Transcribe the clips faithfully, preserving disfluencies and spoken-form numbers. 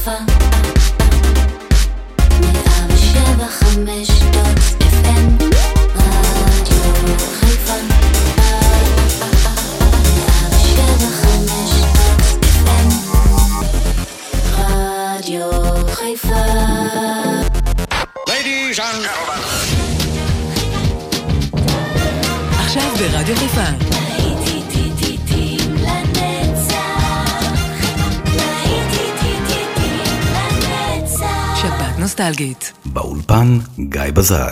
חיפה מאה ושבע חמש דוט אף אם רדיו חיפה מאה ושבע חמש דוט אף אם רדיו חיפה. Ladies and gentlemen, עכשיו ברדיו חיפה שבת נוסטלגית באולפן גיא בזק.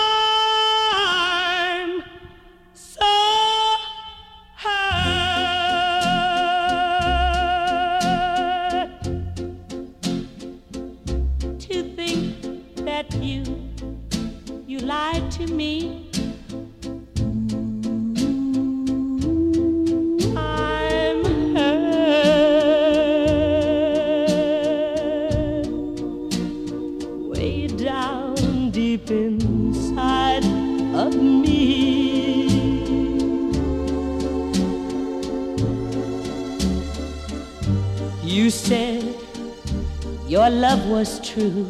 Your love was true,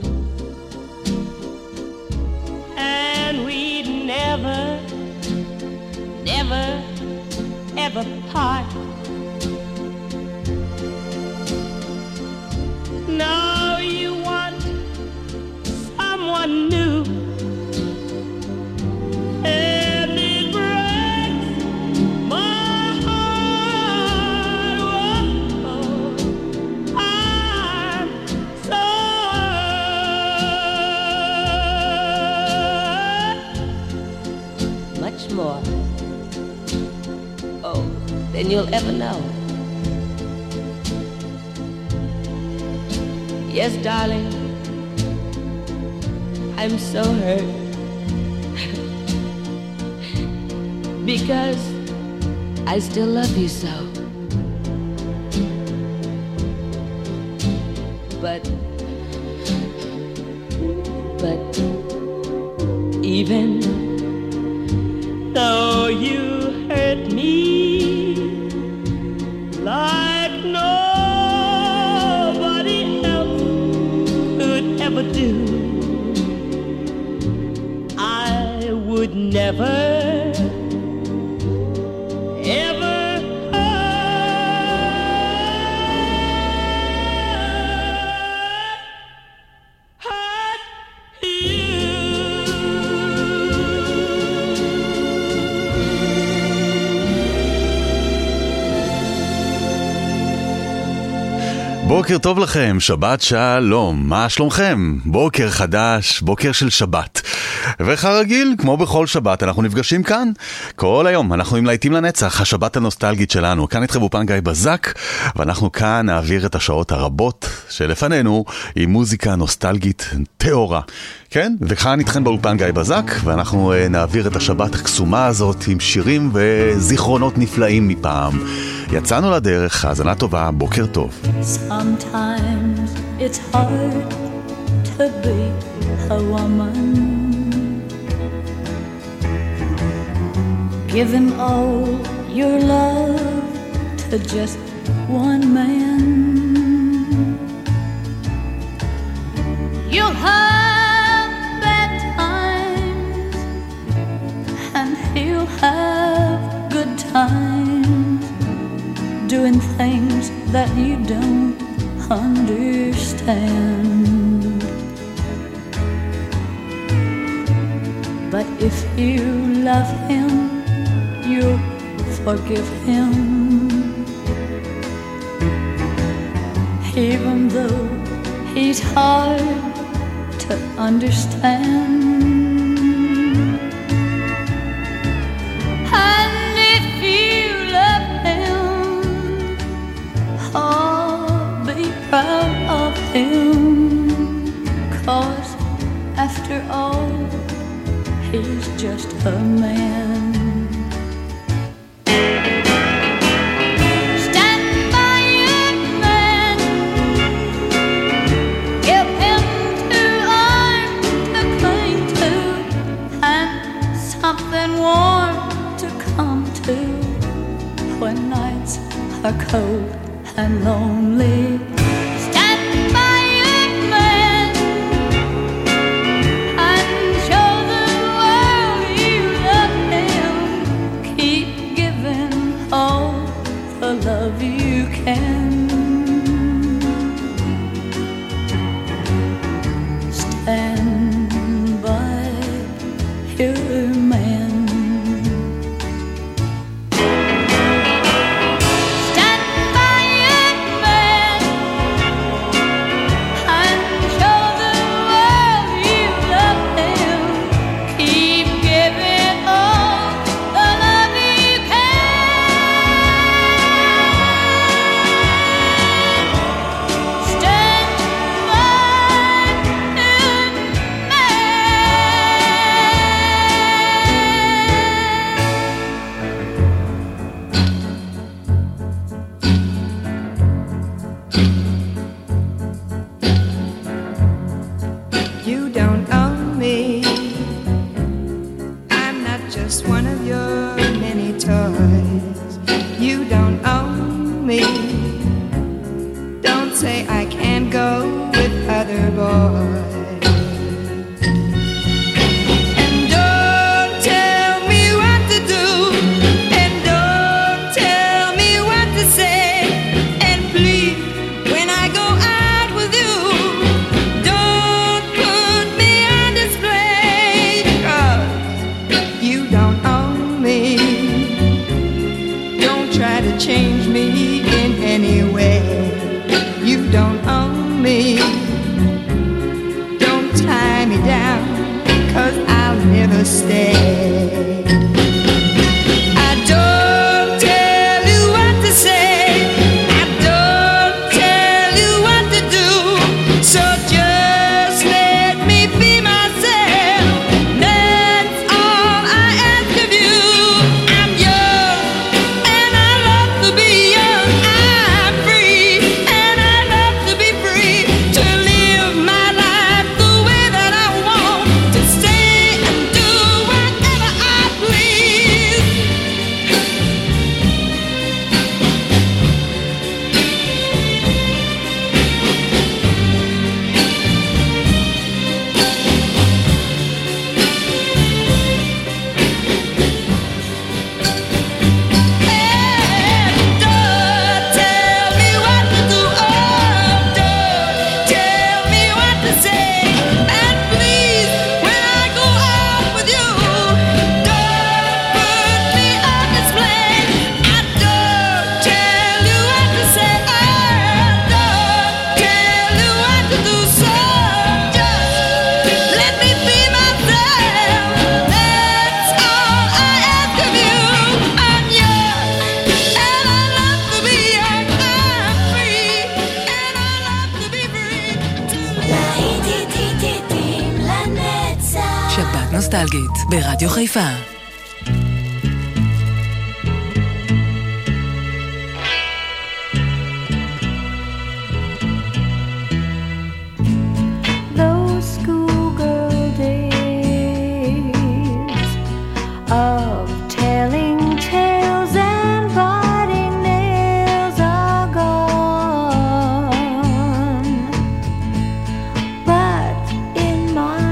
and we'd never, never, ever part. Now you want someone new, and it breaks my heart. Whoa, I'm so hurt. Much more, oh, than you'll ever know. Yes, darling, I'm so hurt because I still love you so. But, but even though you hurt me like nobody else could ever do, I would never, ever hurt, hurt you. בוקר טוב לכם, שבת שלום, מה שלומכם? בוקר חדש, בוקר של שבת. וכרגיל, כמו בכל שבת, אנחנו נפגשים כאן. כל היום אנחנו עם להיטים לנצח, השבת הנוסטלגית שלנו. כאן איתכם באולפן גיא בזק, ואנחנו כאן נעביר את השעות הרבות שלפנינו עם מוזיקה נוסטלגית טהורה. כן? וכאן איתכם באולפן גיא בזק, ואנחנו נעביר את השבת הקסומה הזאת עם שירים וזיכרונות נפלאים מפעם. יצאנו לדרך, האזנה טובה, בוקר טוב. Sometimes it's hard to be a woman, giving all your love to just one man. You'll have bad times and he'll have good times, doing things that you don't understand. But if you love him, you'll forgive him, even though he's hard to understand. And if you love him, oh, be proud of him, 'cause after all, he's just a man. Stand by your man, give him two arms to cling to, and something warm to come to when nights are cold and lonely. Stand by נוסטלגית ברדיו חיפה. Those schoolgirl days of telling tales and biting nails are gone, but in my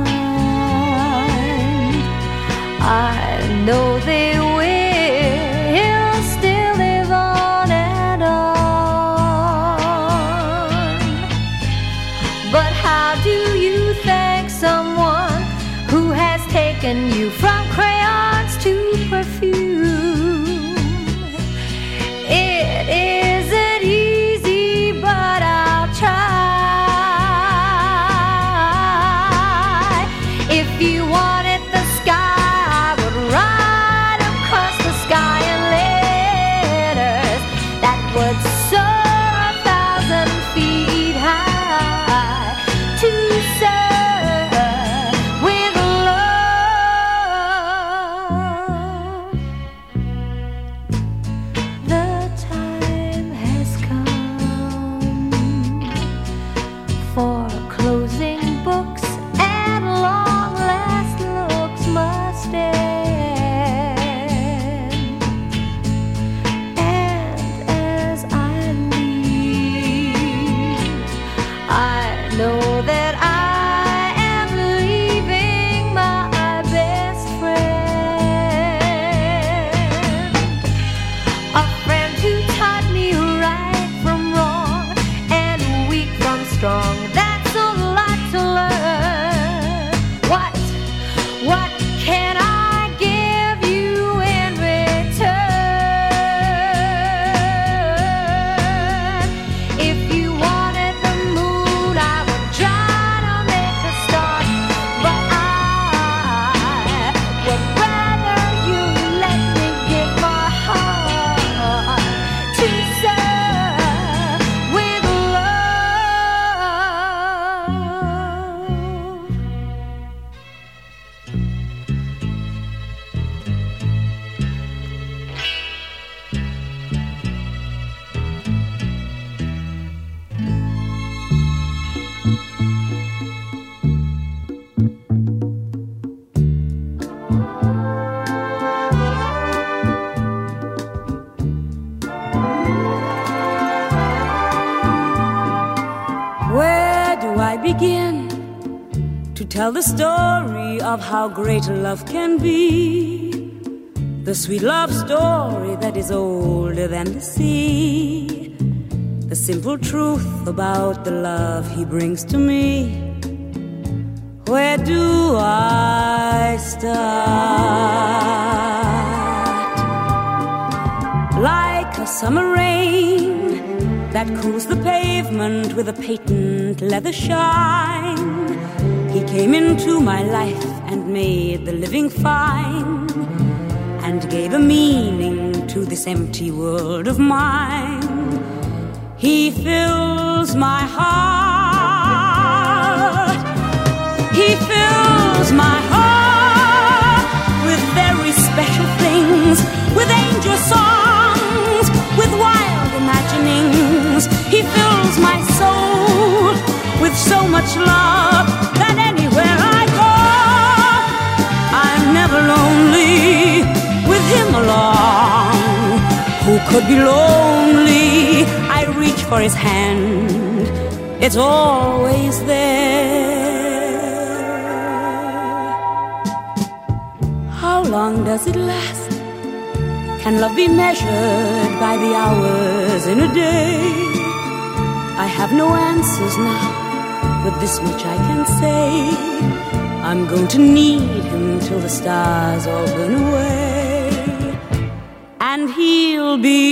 mind I know they will still live on and on. But how do you thank someone who has taken you from crayons to perfume? It isn't easy, but I'll try. If you wanted the sky, I would ride across the sky in letters that would soar a thousand feet high to serve with love. The time has come for closing books, and long last looks must end. And as I leave, I know that I am leaving my best friend, a friend who taught me right from wrong and weak from strong. That's a lot to learn. What, what can I give you in return? If you wanted the moon, I would try to make a start, but I would rather you let me give my heart to serve with love. Where do I begin to tell the story of how great love can be? The sweet love story that is older than the sea. The simple truth about the love he brings to me. Where do I start? Like a summer rain that cools the pavement with a patent leather shine, he came into my life and made the living fine, and gave a meaning to this empty world of mine. He fills my heart, he fills my heart with very special things, with angel songs, with wild imaginings. He fills my soul with so much love that anywhere I go, I'm never lonely with him along. Who could be lonely? I reach for his hand, it's always there. How long does it last? Can love be measured by the hours in a day? I have no answers now, but this much I can say: I'm going to need him till the stars all burn away, and he'll be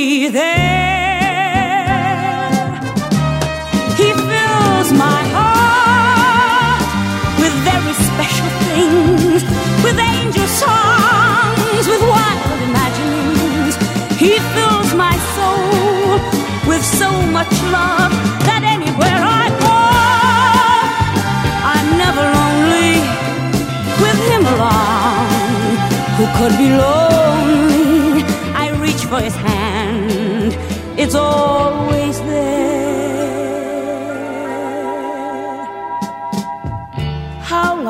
there. He fills my heart with very special things, with angel songs, with wild imaginings. He fills my soul with so much love that anywhere I go, I'm never lonely with him along.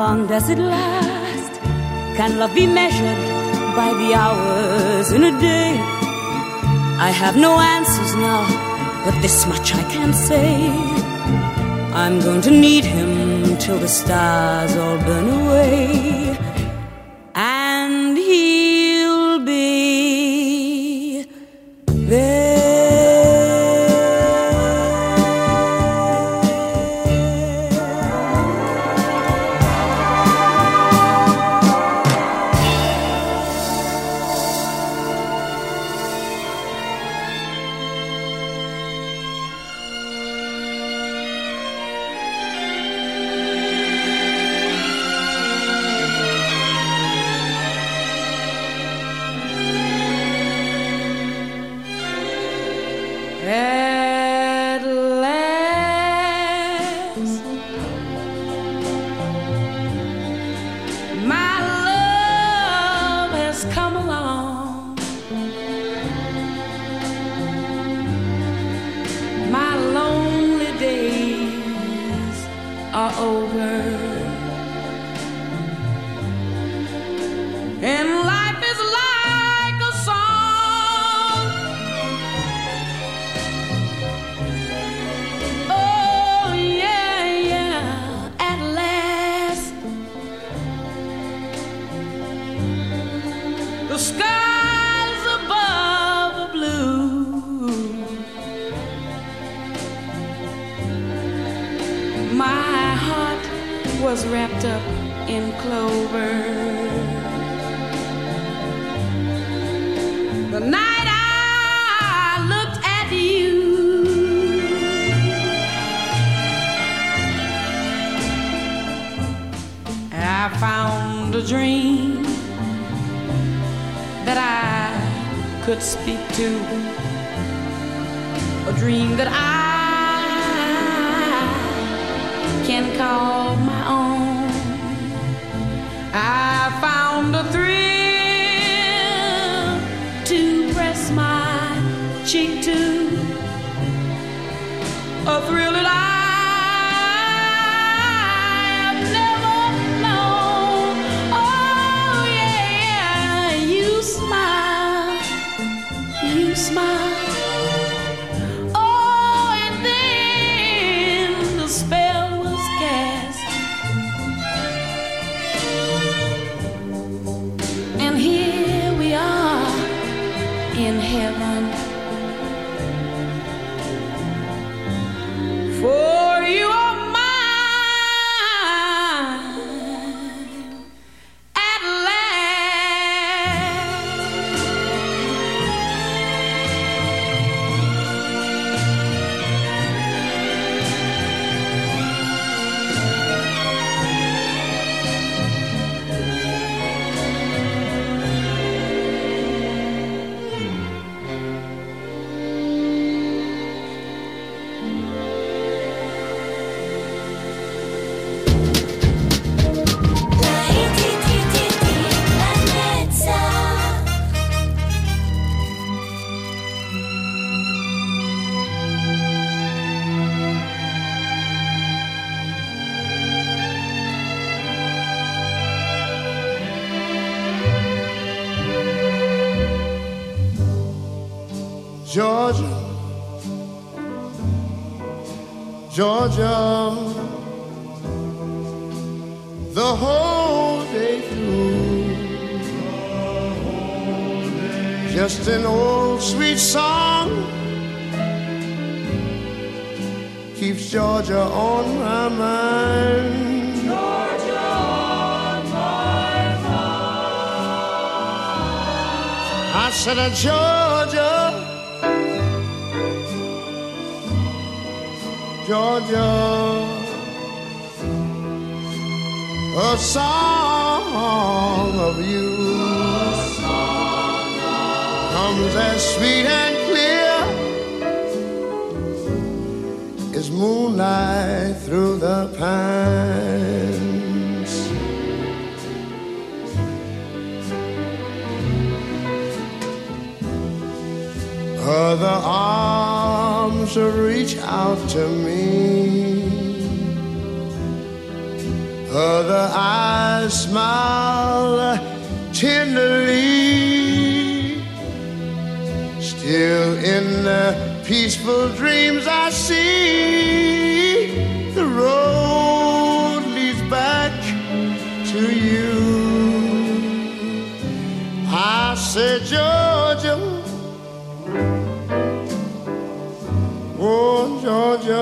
long does it last? Can love be measured by the hours in a day? I have no answers now, but this much I can say. I'm going to need him till the stars all burn away. And he'll be there. At last, my love has come along. My lonely days are over, and life is like a song. Oh yeah, yeah, at last the skies above are blue. My heart was wrapped up in clover the night I looked at you. I found a dream that I could speak to, a dream that I can call my own. I found a thrill to press my cheek to, a thrill that I have never known. Oh yeah, you smile, you smile. Oh, and then the spell was cast, and here we are in heaven. For you are mine at last. Georgia, Georgia, the whole day through, just an old sweet song keeps Georgia on my mind. Georgia on my mind. I said, uh, Georgia, Georgia, a song of you comes as sweet and clear as moonlight through the pines. Other arms reach out to me, Other eyes smile tenderly. Still in the peaceful dreams I see the road leads back to you. I said, Georgia, oh Georgia,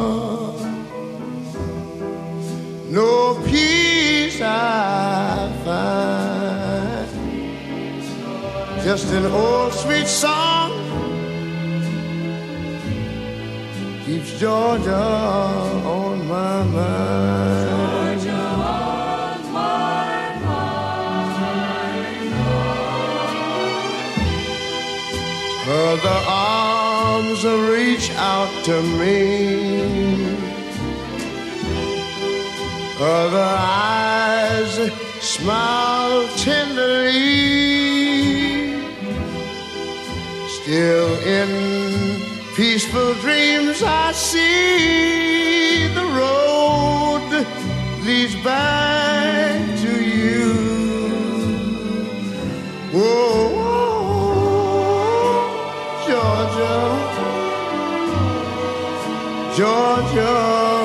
no peace I find, just an old sweet song keeps Georgia on my mind. Georgia on my mind. Other arms reach out to me. Other eyes smile tenderly. Still in peaceful dreams I see the road leads back to you. Whoa, Georgia, Georgia,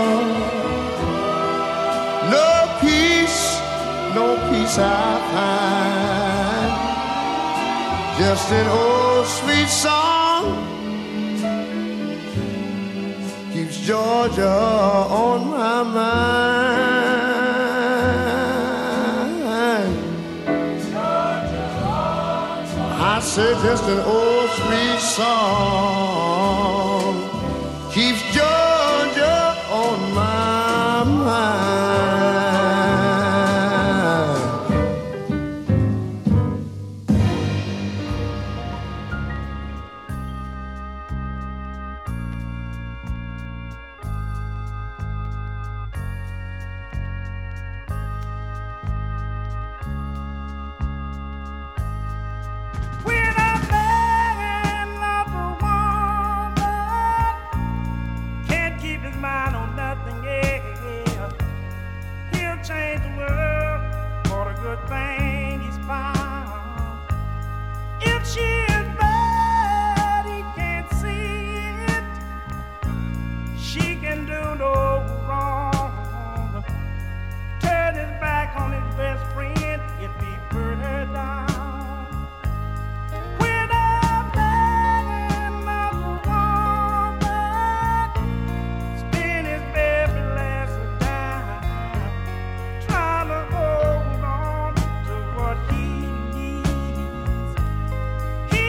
no peace, no peace I find, just an old sweet song keeps Georgia on my mind. Georgia on my I said just an old sweet song keeps Georgia on my mind. He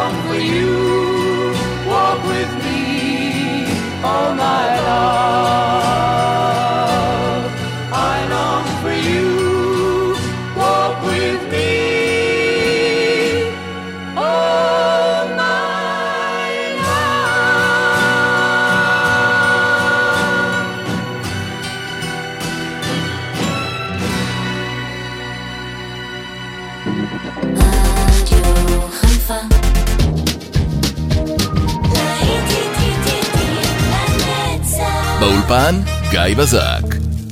long for you. Walk with me, oh my love. I long for you. Walk with me, oh my love. רדיו חיפה לנצח. באולפן גיא בזק.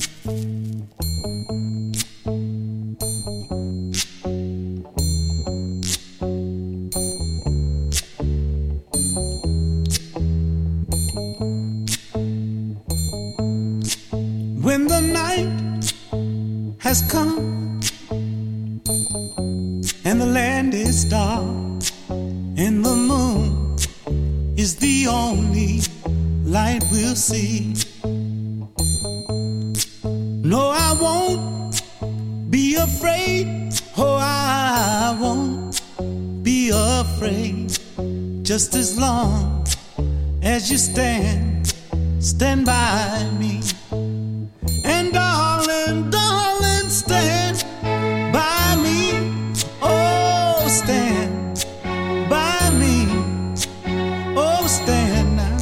When the night has come and the land is dark and the moon is the only light we'll see. No, I won't be afraid. Oh, I won't be afraid. Just as long as you stand, stand by me. And darling, darling, stand by me. Oh, stand by me. Oh, stand now.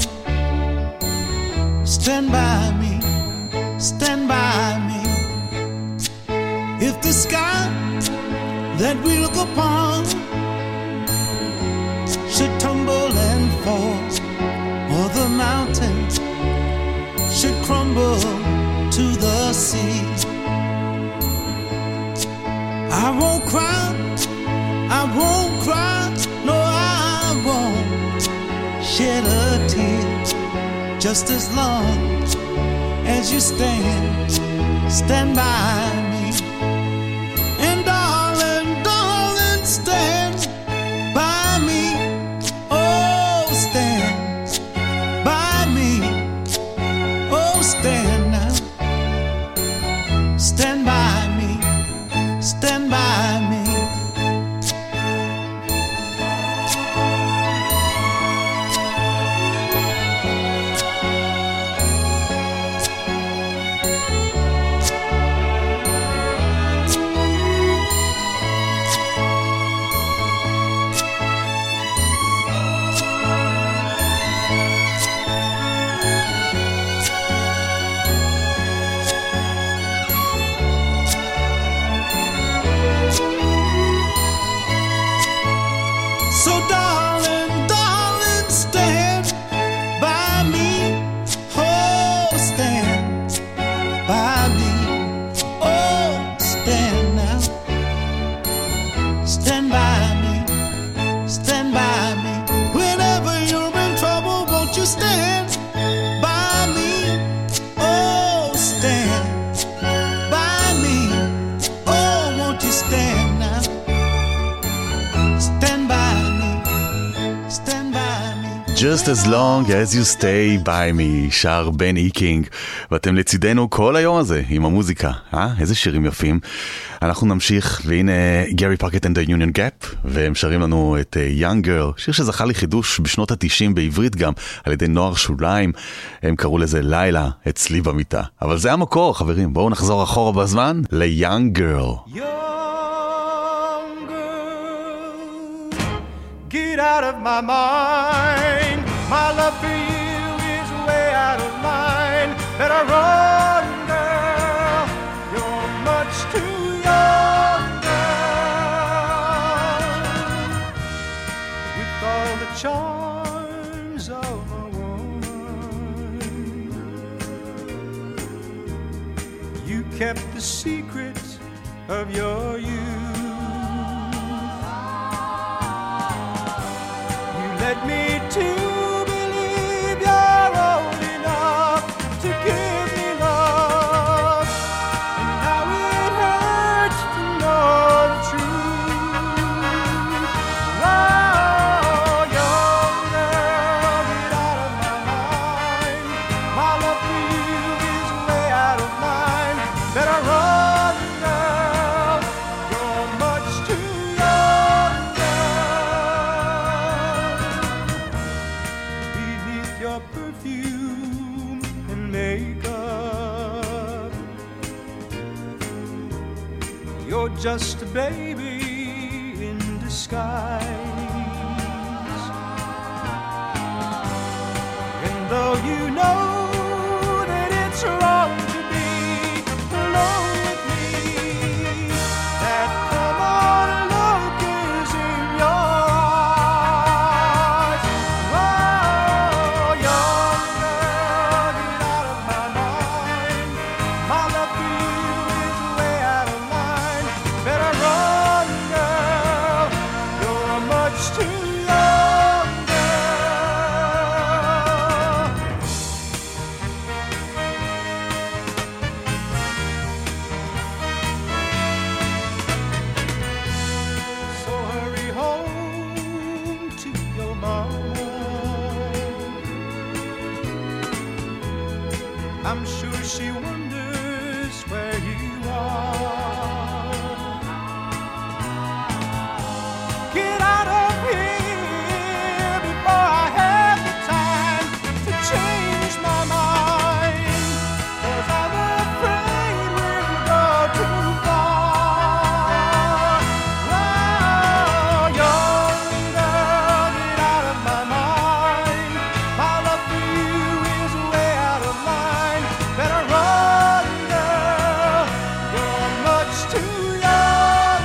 Stand by me. Stand by me. If the sky that we look upon should tumble and fall, or the mountains should crumble to the sea, I won't cry, I won't cry, no, I won't shed a tear. Just as long as you stand, stand by me. And darling, darling, stand by me. Oh, stand by me. Oh, stand now. Stand by me. Stand by me. So darling, darling, stand by me. Oh, stand by me. Oh, stand now. Stand by me. Stand by me. Whenever you're in trouble, won't you stand by me? Oh, stand by me. Oh, won't you stand now? Stand by me. Stand by me. Just as long as you stay by me, שר בן איקינג, ואתם לצידנו כל היום הזה עם המוזיקה, אה? איזה שירים יפים. אנחנו נמשיך, והנה גרי פארקט and the Union Gap, והם שרים לנו את uh, Young Girl, שיר שזכה לחידוש בשנות ה-תשעים בעברית גם, על ידי נוער שוליים. הם קראו לזה לילה אצלי במיטה. אבל זה המקור, חברים, בואו נחזור אחורה בזמן ל-Young Girl. Young girl, get out of my mind. My love for you is way out of line. Better run, girl. You're much too young, girl. With all the charms of a woman, you kept the secret of your youth. You led me to believe you're old enough to give me love, and now it hurts to know the truth. Oh, young girl, get out of my mind. My love for you is way out of line. Better run, girl. You're much too young, girl. just a baby in disguise. And though you know that it's wrong to be alone with me, that come on look is in your eyes. Oh, young girl, get out of my mind. My love for you is way out of line. Better run, girl, you're much too young, girl. So hurry home to your mama. I'm sure she wonders where you are. Get out of here before I have the time to change my mind, 'cause I'm afraid we'll go too far. Oh, young girl, get out of my mind. My love for you is way out of line. Better run, girl, you're much too young,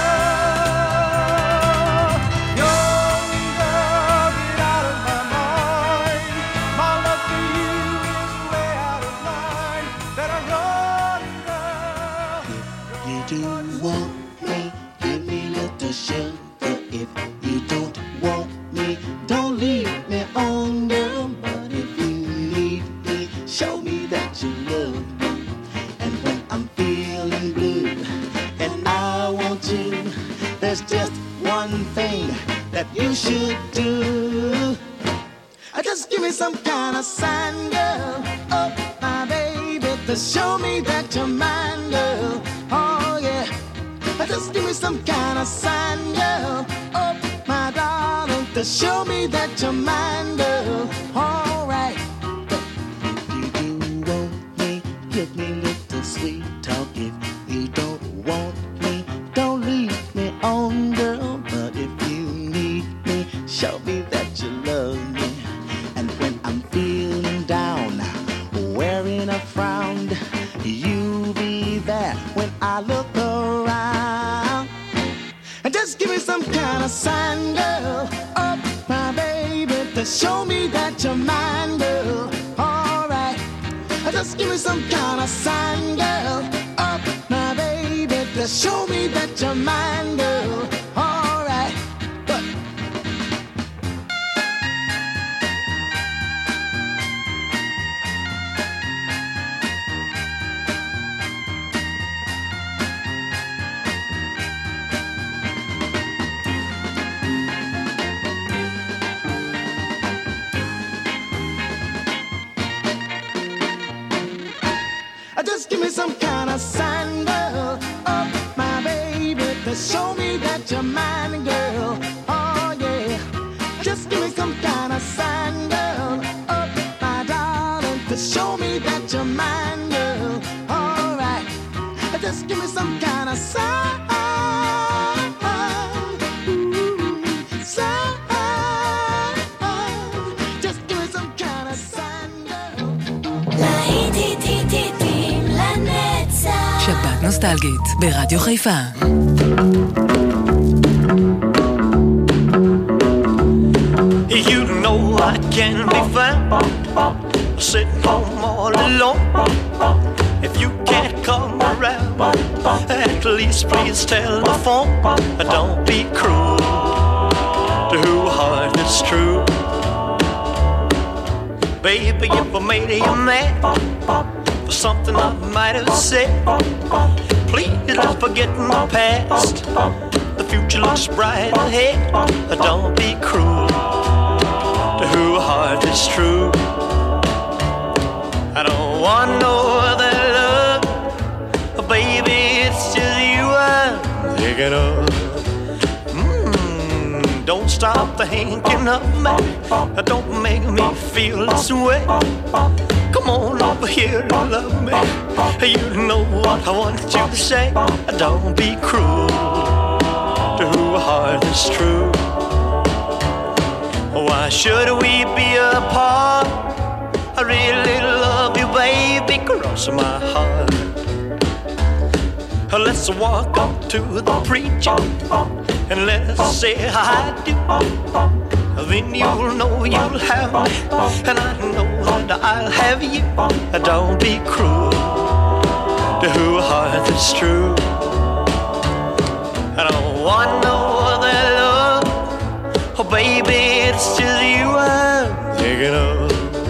girl. Young girl, get out of my mind. My love for you is way out of line. Better run, girl. You do want me, give me little sugar. If you don't want me, don't leave me on, girl. But if you need me, show me that you love me. And when I'm feeling blue and I want you, there's just one thing that you should do. Uh, Just give me some kind of sign, girl. Oh, my baby, to show me that you're mine, girl. Oh, yeah. Uh, Just give me some kind of sign, girl. Oh, my darling, to show me that you're mine, girl. All right. If you do want me, give me little sweet talk. If you don't want me, don't leave me on, girl. But if you need me, show me that you love me. And when I'm feeling down, wearing a frown, you be there when I look around. And just give me some kind of sign, girl. Oh, my baby, to show me that you're mine, girl. All right. Just give me some kind of sign, girl. Oh, my baby, to show me that you're mine, girl. All right. But Uh, just give me some kind of sign, girl. Oh, my baby, to show me that you're mine, girl. Oh, yeah. Just give me some kind of sign, girl. Oh, my darling, to show me that you're mine, girl. All right. Uh, Just give me some kind of sign. Ooh, sign. Just give me some kind of sign, girl. להיטים לנצח. שבת נוסטלגית ברדיו חיפה. You know I can be found sitting home all alone. If you can't come around, at least please telephone. Don't be cruel to who heart is true. Baby, if I made you mad for something I might have said, please let's forget the past. The future looks bright ahead. Don't be cruel to who heart is true. I don't want no other love, baby, it's just you I'm thinking of. Mm, don't stop thinking of me, don't make me feel this way. Come on over here and love me. You know what I want you to say. Don't be cruel to a heart that's true. Why should we be apart? I really love you, baby, cross my heart. Let's walk up to the preacher and let's say I do. Then you'll know you'll have me, and I know that I'll have you. Don't be cruel to a heart that's true. I don't want no other love. Oh baby, it's just you I'm thinking of.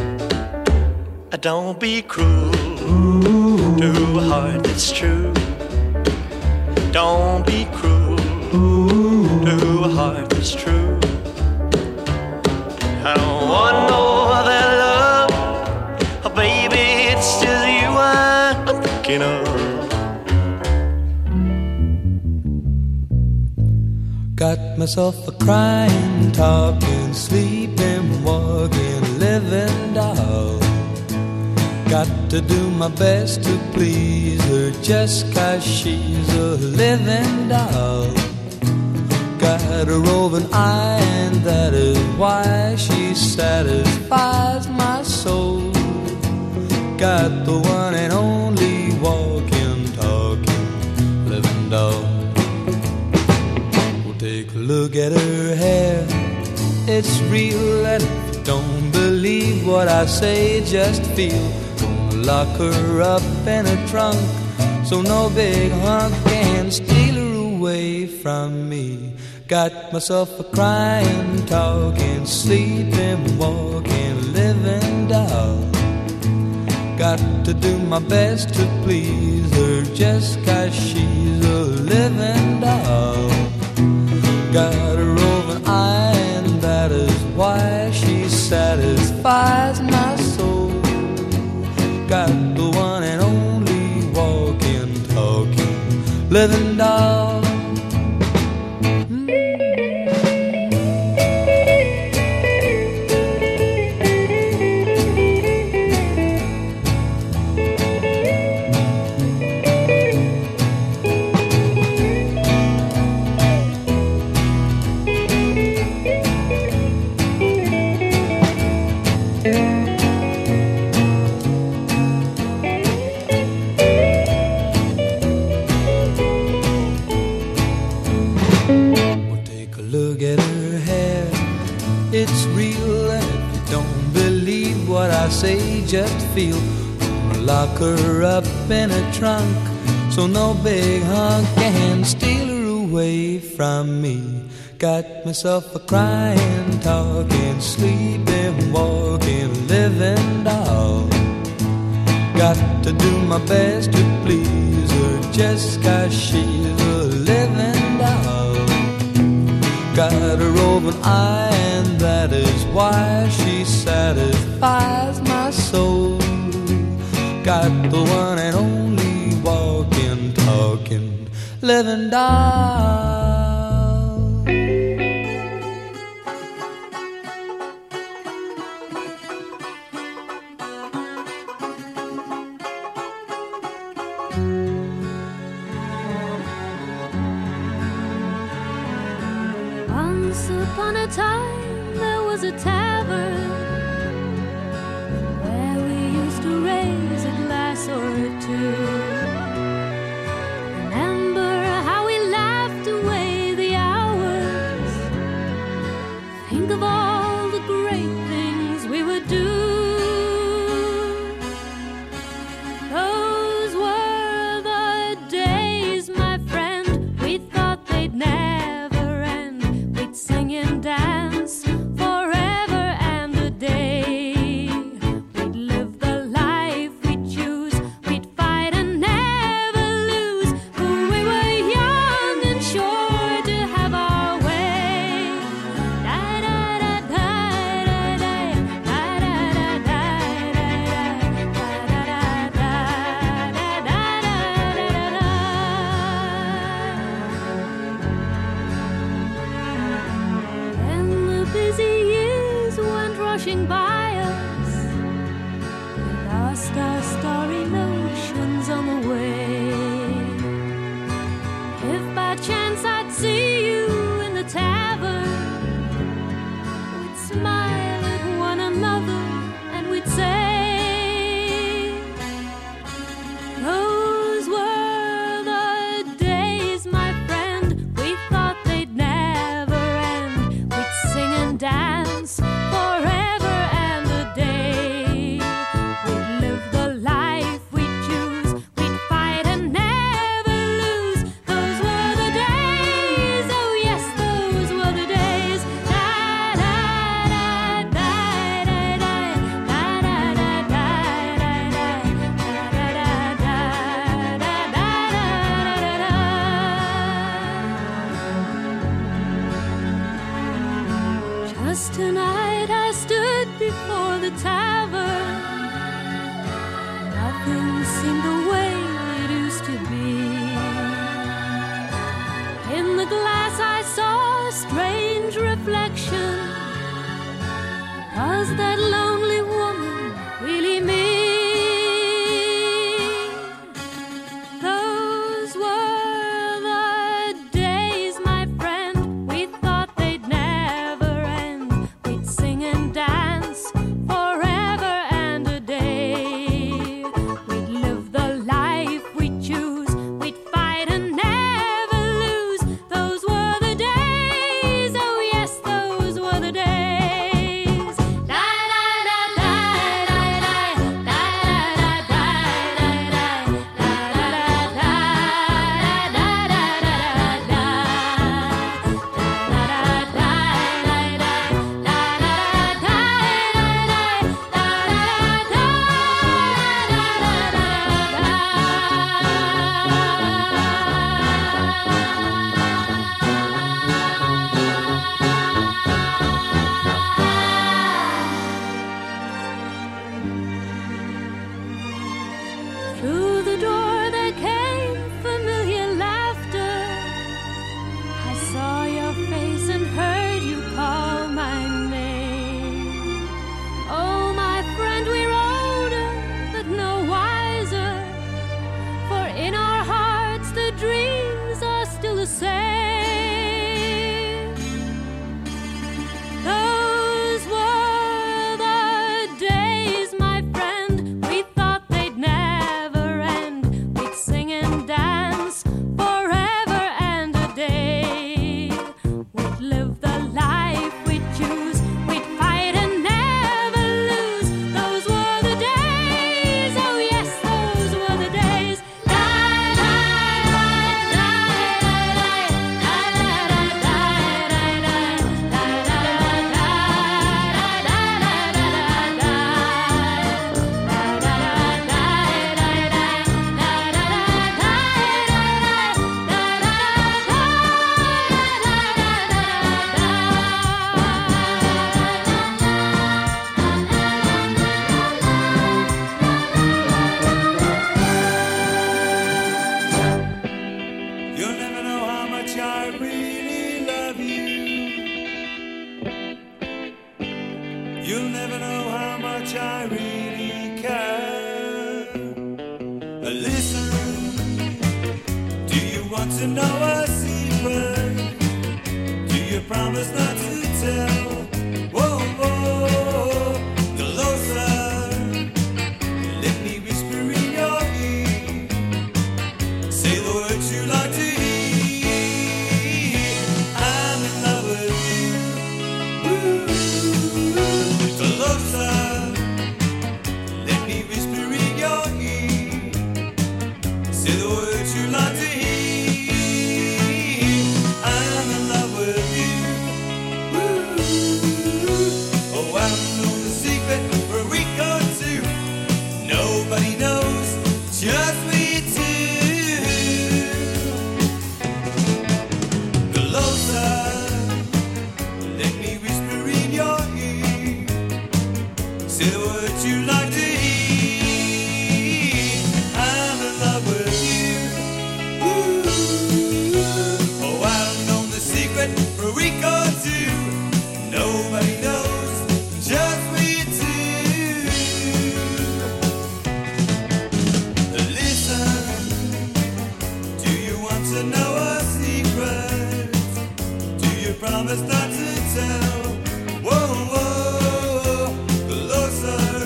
Don't be cruel to a heart that's true. Don't be cruel to a heart that's true. I don't want no other love. Oh baby, it's just you I'm thinking of. Got myself a crying, talking, sleeping, walking, living doll. Got to do my best to please her just 'cause she's a living doll. Got a roving eye and that is why she satisfies my soul. Got the one and only walking, talking, living doll. Well, take a look at her hair, it's real, and if you don't believe what I say, just feel. Lock her up in a trunk so no big hunk can steal her away from me. Got myself a crying, talking, sleeping, walking, living doll. Got to do my best to please her just 'cause she's a living doll. Got a roving eye and that is why she satisfies my soul. Got the one and only walking, talking, living doll. Say just feel. Lock her up in a trunk so no big hunk can steal her away from me. Got myself a crying, talking, sleeping, walking, living doll. Got to do my best to please her just 'cause she's a living doll. Got a roving eye and that is why she satisfies my soul. Got the one and only walking, talking, living doll. Once upon a time there was a tavern where we used to raise a glass or two. Remember how we laughed away the hours. Think of all the great things we would do. Those were the days, my friend, we thought they'd never end. We'd sing and dance forever Yes, tonight I stood before the tavern. Nothing seemed the way it used to be. In the glass I saw a strange reflection. Was that lonely woman really me? Those were the days, my friend. We thought they'd never end. We'd sing and dance forever and a day. We'd live the life we'd choose. We'd fight and never lose. Those were the days. Oh yes, those were the days. Through the door there came familiar laughter. I saw your face and heard you call my name. Oh, my friend, we're older, but no wiser. For in our hearts the dreams are still the same. Those were the days, my friend. We thought they'd never end. We'd sing and dance forever and a day. We'd live the life we'd choose. We'd fight and never lose. Those were the days. Oh yes, those were the days. You'll never know how much I really love you. You'll never know how much I really care. Listen, do you want to know a secret? Do you promise not to tell? Whoa, whoa, closer. Let me whisper in your ear. Say the words you like to hear. I'm in love with you. Ooh, closer. Let me whisper in your ear. Say the words you like to hear. I'm in love with you. Ooh, oh, I know the secret for a week or two. Nobody knows, just we two. Closer, let me whisper in your ear. Say the words you like to hear. I'm in love with you. Ooh, oh, I've known the secret for a week or two. Nobody knows, just we two. Listen, do you want to know a secret? Do you promise not to tell? Whoa, whoa, closer.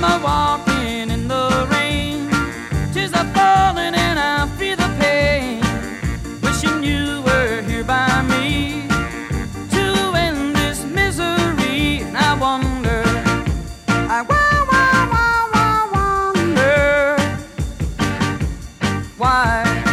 I'm a walking in the rain, tears are falling and I feel the pain, wishing you were here by me to end this misery. And I wonder, I wa- wa- wa- wa- wonder why.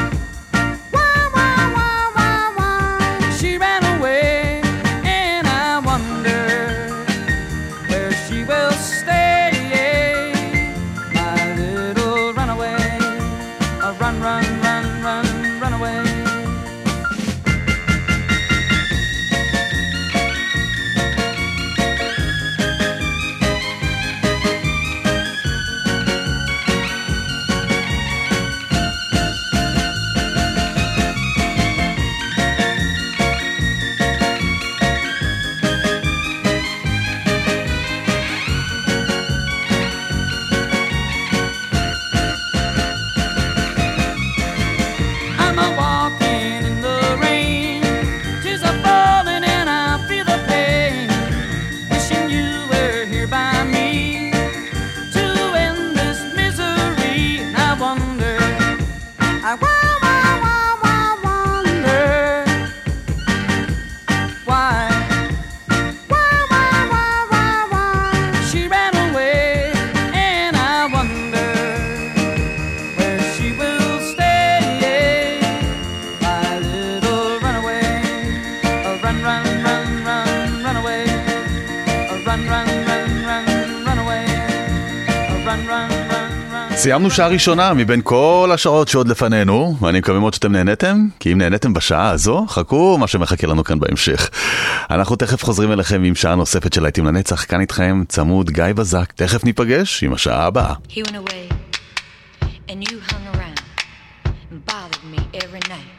סיימנו שעה ראשונה מבין כל השעות שעוד לפנינו, ואני מקווה מאוד שאתם נהנתם, כי אם נהנתם בשעה הזו, חכו מה שמחכה לנו כאן בהמשך. אנחנו תכף חוזרים אליכם עם שעה נוספת של להיטים לנצח, כאן איתכם צמוד גיא בזק. תכף ניפגש עם השעה הבאה. He went away and you hung around and bothered me every night.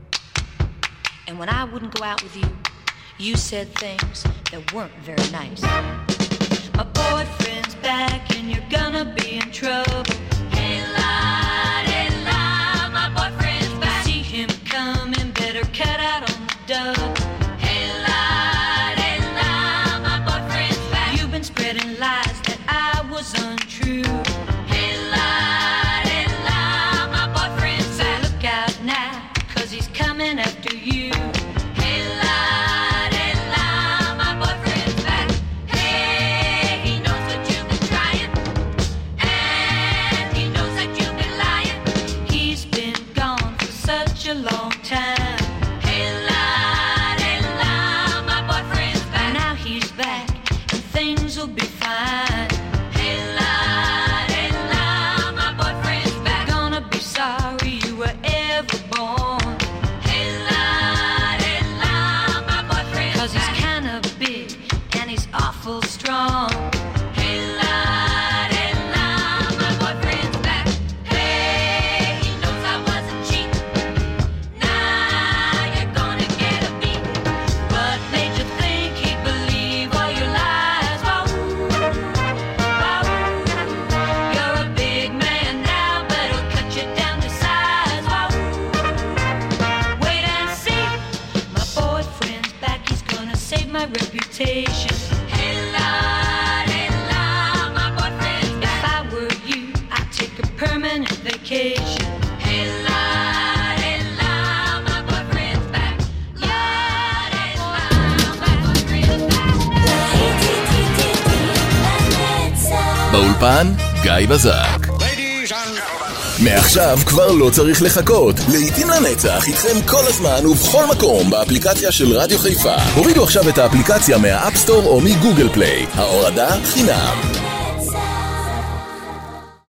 And when I wouldn't go out with you, you said things that weren't very nice. My boyfriend's back and you're gonna be in trouble. Hey, lad, hey, lad, my boyfriend's back. See him coming, better cut out on the double. Hey, lad, hey, lad, my boyfriend's back. You've been spreading lies that I was untrue. Hey, lad, hey, lad, my boyfriend's back. So look out now, cause he's coming after you. Hey, lad, hey, lad, my boyfriend's back. Hey, he knows that you've been trying, and he knows that you've been lying. He's been gone for such a long time. Hey, lad, hey, lad, my boyfriend's back. Now he's back, and things will be fine. Hey, lad, hey, lad, my boyfriend's back. Gonna be sorry you were ever born. Hey, lad, hey, lad, my boyfriend's back. 'Cause he's kinda big, and he's awful strong. Hey, lad, hey, lad, my boyfriend's back. Hey, he knows I wasn't cheap. Now you're gonna get a beat. What made you think he'd believe all your lies? Wah, wah, you're a big man now, but he'll cut you down to size. Wah, wait and see. My boyfriend's back, he's gonna save my reputation. Hey, lad, hey, lad, my boyfriend's back. If I were you, I'd take a permanent vacation. Hey, lad, hey, lad, my boyfriend's back. Lad, hey, lad, my boyfriend's back. באולפן גיא בזק. מעכשיו כבר לא צריך לחכות. להיטים לנצח איתכם כל הזמן ובכל מקום באפליקציה של רדיו חיפה. הורידו עכשיו את האפליקציה מהאפסטור או מגוגל פליי. ההורדה חינם.